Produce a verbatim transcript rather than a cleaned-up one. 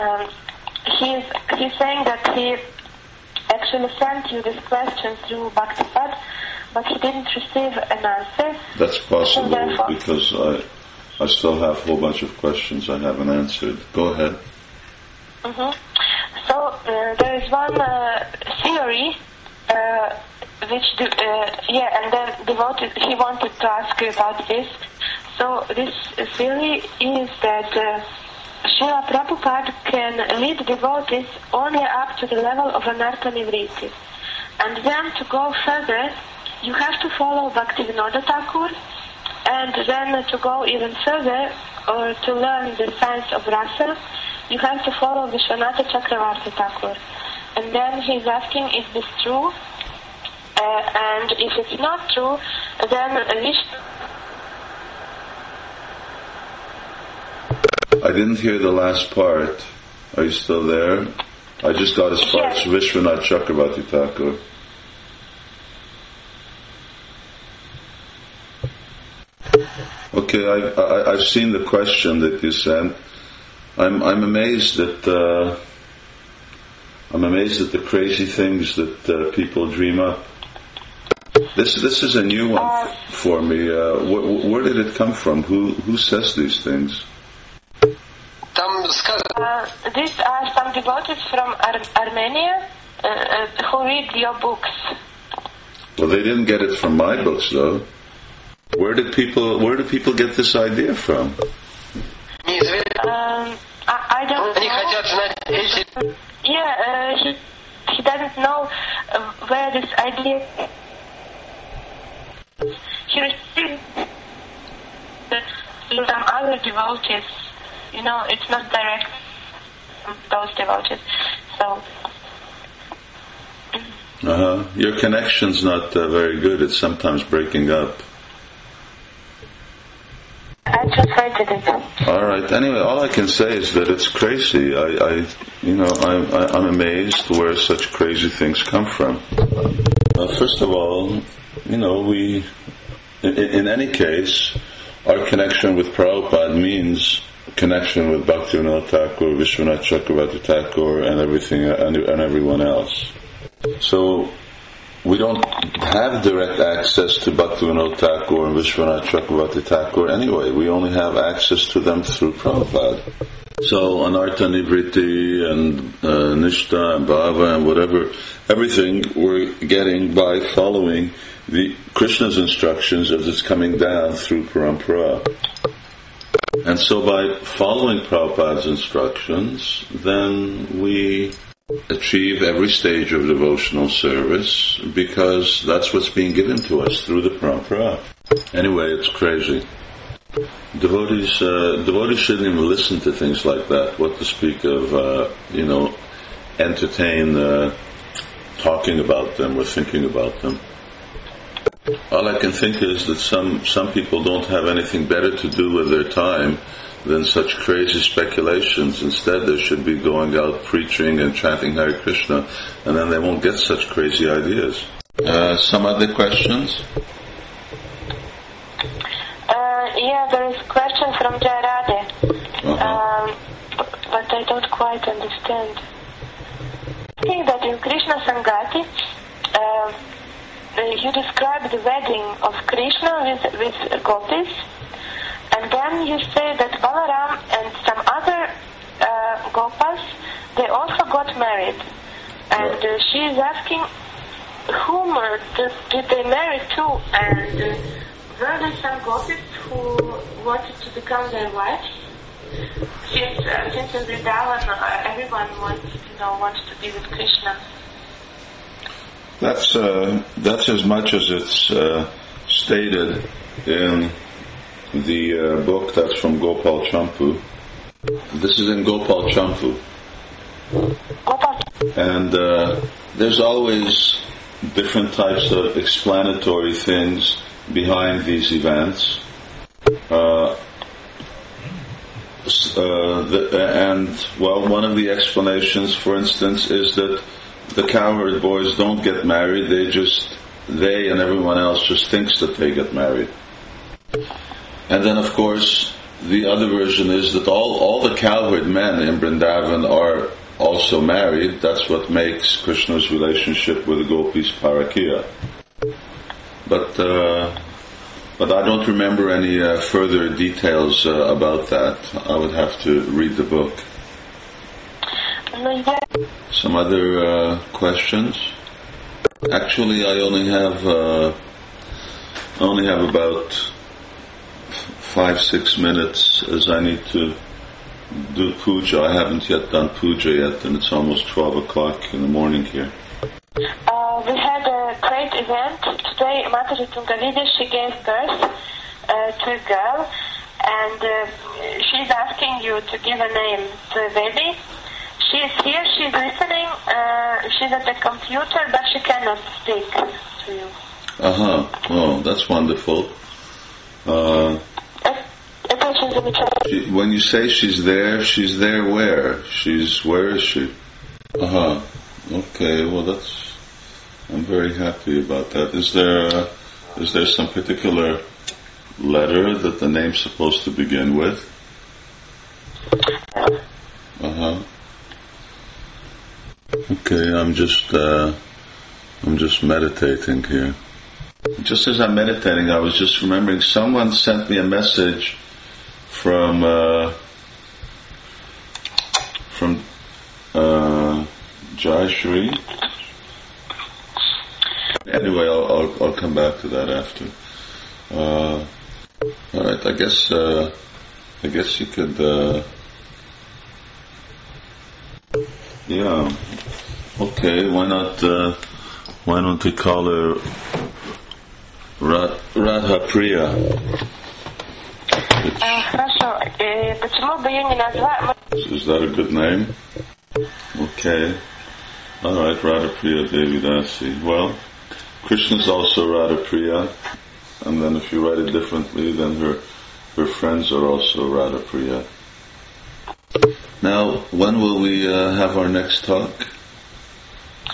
um, he's he's saying that he actually sent you this question through Bhaktipad, but he didn't receive an answer. That's possible because I I still have a whole bunch of questions I haven't answered. Go ahead. Mm-hmm. So uh, there is one uh, theory uh, which de- uh, yeah, and then devoted. He wanted to ask you about this. So this theory is that uh, Srila Prabhupada can lead devotees only up to the level of anartha nivriti, and then to go further, you have to follow Bhaktivinoda Thakur, and then to go even further or to learn the science of rasa, you have to follow Vishwanatha Chakravarti Thakur. And then he's asking, is this true? Uh, and if it's not true, then Vishnu... I didn't hear the last part. Are you still there? I just got as far as Vishwanath Chakravarti Thakur. Okay, I, I, I've seen the question that you sent. I'm I'm amazed at uh, I'm amazed at the crazy things that uh, people dream up. This this is a new one uh, for me. Uh, wh- where did it come from? Who who says these things? Uh, these are some devotees from Ar- Armenia uh, uh, who read your books. Well, they didn't get it from my books, though. Where did people Where did people get this idea from? Um, I, I don't know. Yeah, uh, he he doesn't know uh, where this idea. He received some other devotees. You know, it's not direct from those devotees. So. Uh huh. Your connection's not uh, very good. It's sometimes breaking up. I translated it. All right. Anyway, all I can say is that it's crazy. I, I you know, I, I, I'm amazed where such crazy things come from. Uh, first of all, you know, we, in, in any case, our connection with Prabhupada means connection with Bhaktivinoda Thakur, Vishwanath Chakravarti Thakur, and everything, and, and everyone else. So, we don't have direct access to Bhaktivinoda Thakur and Vishwanath Chakravarti Thakur anyway. We only have access to them through Prabhupada. So, Anartha Nivriti and uh, Nishta and Bhava and whatever, everything we're getting by following the Krishna's instructions as it's coming down through Parampara. And so by following Prabhupada's instructions, then we achieve every stage of devotional service because that's what's being given to us through the Parampara. Anyway, it's crazy. Devotees, uh, devotees shouldn't even listen to things like that. What to speak of, uh, you know, entertain uh, talking about them or thinking about them. All I can think is that some, some people don't have anything better to do with their time than such crazy speculations. Instead, they should be going out preaching and chanting Hare Krishna, and then they won't get such crazy ideas. Uh, some other questions? Uh, yeah, there is a question from Jayarade, uh-huh. um, but I don't quite understand. I think that in Krishna Sangati, uh, you describe the wedding of Krishna with, with gopis, and then you say that Balaram and some other uh, gopas, they also got married. And uh, she is asking, whom uh, did, did they marry to? And uh, were there some gopis who wanted to become their wives? Since, uh, since in Vrindavan, uh, everyone wants, you know, wants to be with Krishna. That's uh, that's as much as it's uh, stated in the uh, book that's from Gopal Champu. This is in Gopal Champu. And uh, there's always different types of explanatory things behind these events. Uh, uh, the, and, well, one of the explanations, for instance, is that the cowherd boys don't get married, they just, they and everyone else just thinks that they get married. And then, of course, the other version is that all, all the cowherd men in Vrindavan are also married. That's what makes Krishna's relationship with the gopis Parakiya. But uh, but I don't remember any uh, further details uh, about that. I would have to read the book. Some other uh, questions? Actually, I only have uh, I only have about five six minutes, as I need to do puja. I haven't yet done puja yet, and it's almost twelve o'clock in the morning here. Uh, we had a great event today. Mataji Tungalidya, she gave birth uh, to a girl, and uh, she's asking you to give a name to a baby. She's here, she's listening, uh, she's at the computer, but she cannot speak to you. Uh-huh. Oh, that's wonderful. Uh, she, when you say she's there, she's there where? She's, where is she? Uh-huh. Okay, well that's, I'm very happy about that. Is there, uh, is there some particular letter that the name's supposed to begin with? Uh-huh. Okay, I'm just, uh, I'm just meditating here. Just as I'm meditating, I was just remembering someone sent me a message from, uh, from, uh, Jai Shri. Anyway, I'll, I'll, I'll come back to that after. Uh, alright, I guess, uh, I guess you could, uh, yeah. Okay, why not, uh, why don't we call her Ra- Radha Priya? Хорошо. Почему бы ее не назвать? Is that a good name? Okay. Alright, Radha Priya Devi Dasi. Well, Krishna's also Radha Priya. And then if you write it differently, then her, her friends are also Radha Priya. Now, when will we uh, have our next talk?